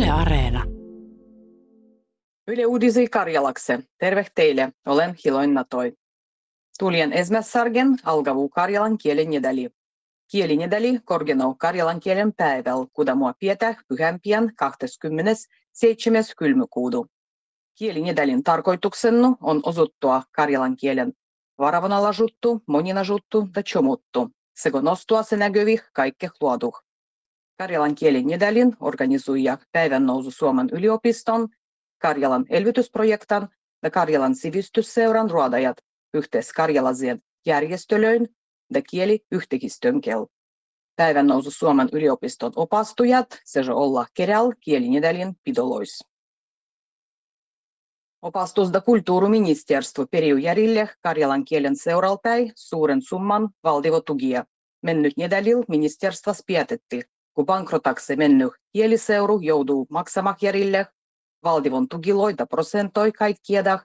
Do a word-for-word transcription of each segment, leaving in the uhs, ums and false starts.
Yle Areena. Yle Uudisi Karjalakse. Terve teille, olen Hiloin Natoi. Tulien ensimmäisargen algavuu karjalan kielen nedäli. Kielinedäli korgenau karjalan kielen päiväl, kudamua pietä pyhämpian kahdeskymmenesseitsemäs kylmykuudu. Kielinedälin tarkoituksennu on osuttua karjalan kielen varavanalajuttu, moninajuttu ja chomuttu, sekä nostua se näkyvih kaikkeh luoduh. Karjalan kielinedälin organisoija päivän nousu Suomen yliopiston, Karjalan elvytysprojektan ja Karjalan sivistysseuran ruodajat yhteis karjalaisien järjestölöin ja kieliyhtehistönkel. Päivän nousu Suomen yliopiston opastujat sejo olla keräl kielinedälin pidolois. Opastus da kulttuuriministeriö periu järjille karjalan kielen seuralpäi suuren summan valdivotugia. Mennyt nedälil ministeriössä päätettiin, kun bankrotakse mennyt kieliseuru joutuu maksamaan järjille valdivon tugiloita prosentoi kaikkiedah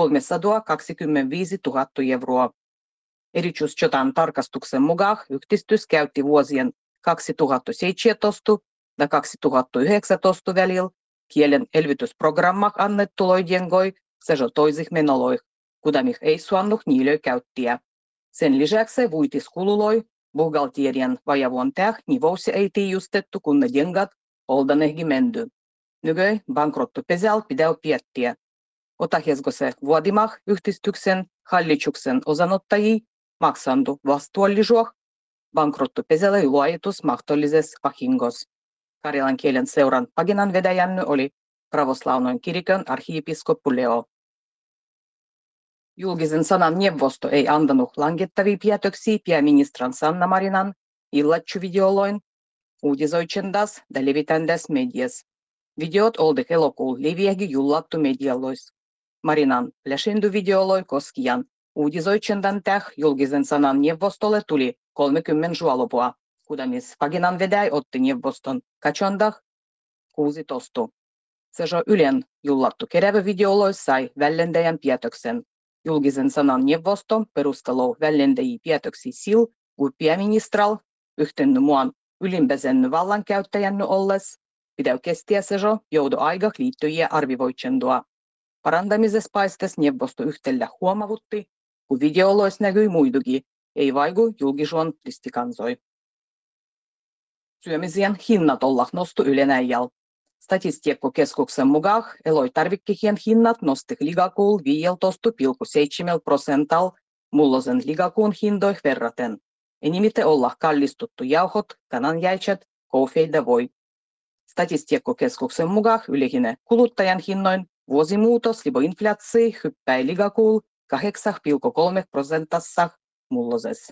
kolmesataakaksikymmentäviisituhatta euroa. Erityisjotan tarkastuksen mukaan yhdistys käytti vuosien kaksituhattaseitsemäntoista ja kaksituhattayhdeksäntoista välillä kielen elvytysprogrammak annettuloiden goi sejo toisih menoloih, kudamih ei suannut niilöi käyttiä. Sen lisäksi vuitiskululloi buhalterien vajavuontäh nivousi ei tiijustettu, kun ne dengat oldanehgi mendy. Nygöi bankrottupesal pidäu piettiä. Otahesgo se vuodimah yhdistyksen hallituksen osanottajia maksandu vastuollisuus bankrottupeselle luojitus mahdollisessa vahingos. Karjalan kielen seuran paginan vedäjänny oli pravoslaunoin kirikön arhiipiskoppu Leo. Julkisen sanan neuvosto ei antanut langettavia päätöksiä pääministerin Sanna Marinan illatsuvideoloin uutisoitsendas ja levitändas medias. Videot oldi elokuun leviägi jullattu medialois. Marinan läshindu-videoloi koskijan uutisoitsendan täh julkisen sanan neuvostolle tuli kolmekymmentä juolopua, kudamis paginan vedäi otti neuvoston katsondah kuusitoista. Sejo Ylen jullattu kerävä videolois sai vällentäjän päätöksen. Julkisen sanan neuvosto perustelou vällentäjiä päätöksiä sil, kun pääministral yhtenny muan ylimpäsenny vallankäyttäjänny olles, pidäu kestiä sejo joudu aigah liittyjiä arvivoitsendua. Parantamisessa paistes neuvosto yhtellä huomavutti, kun videolois näkyi muidugi, ei vaiku julkisuon ristikansoi. Syömisien hinnat ollah nostu Ylenäijäl. Statistiikkokeskuksen mukaan elotarvikkehien hinnat nosti ligakuul viisitoista pilkku seitsemän prosental mullosen ligakuun hindoih verraten. Enimite ollah kallistuttu jauhot, kananjäitset, koufei ja voi. Statistiikkokeskuksen mukaan yleinen kuluttajan hinnoin vuosimuutos libo inflaatsi hyppäi ligakuul kahdeksan pilkku kolme prosentassa mulloses.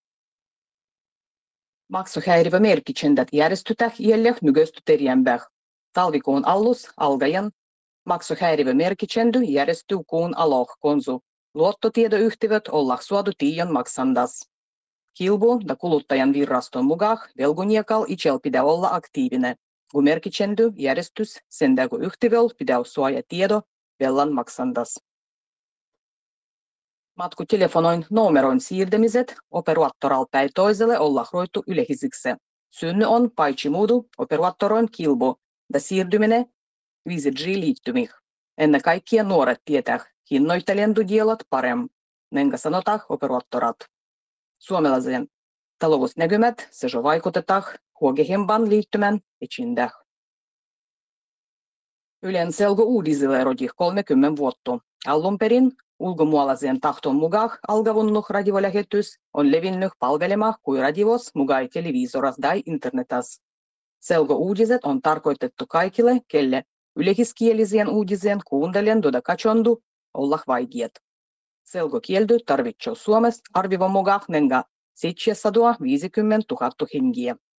Maksuhäiriömerkitsendät järjestytäh jäljeh nygösty terjämbäh. Talvikuun allus algajan maksuhäiriömerkitsendy järjestyy kuun aloh konsu. Luottotiedoyhtiöt ollah suodu tiijon maksandas. Kilbu ja kuluttajan viraston mukaan velguniekal itsel pitää olla aktiivinen, kun merkitsendy järjestys sen kun yhtiöl pitää suoja tiedo vellan maksandas. Matkutelefonoin numeroin siirtämiset operaattoralpäin toiselle ollah roittu yleisiksi. Synny on paitsi muudu operaattoron kilbu ja siirtyminen viisi G-liittymih. Ennen kaikkia nuoret tietää hinnoittelentudielot parem, nenkä sanotaan operaattorat. Suomalaisen talousnäkymät sejo vaikutetaan huogehemban liittymän etsindäh. Ylen selgo uudisille rodih kolmekymmentä vuotta. Alun perin ulkomualaisen tahton mukaan algavunnuh radiolähetys on levinnyt palvelemaan kuin radios mugai televisoras tai internetas. Selgo uutiset on tarkoitettu kaikille, kelle yleiskielisien uudisien kuuntelijan tuoda katsondu olla vaikeat. Selgo-kieldy tarvitsee Suomessa arvivon mukaan nenga seitsemänsataaviisikymmentätuhatta hengiä.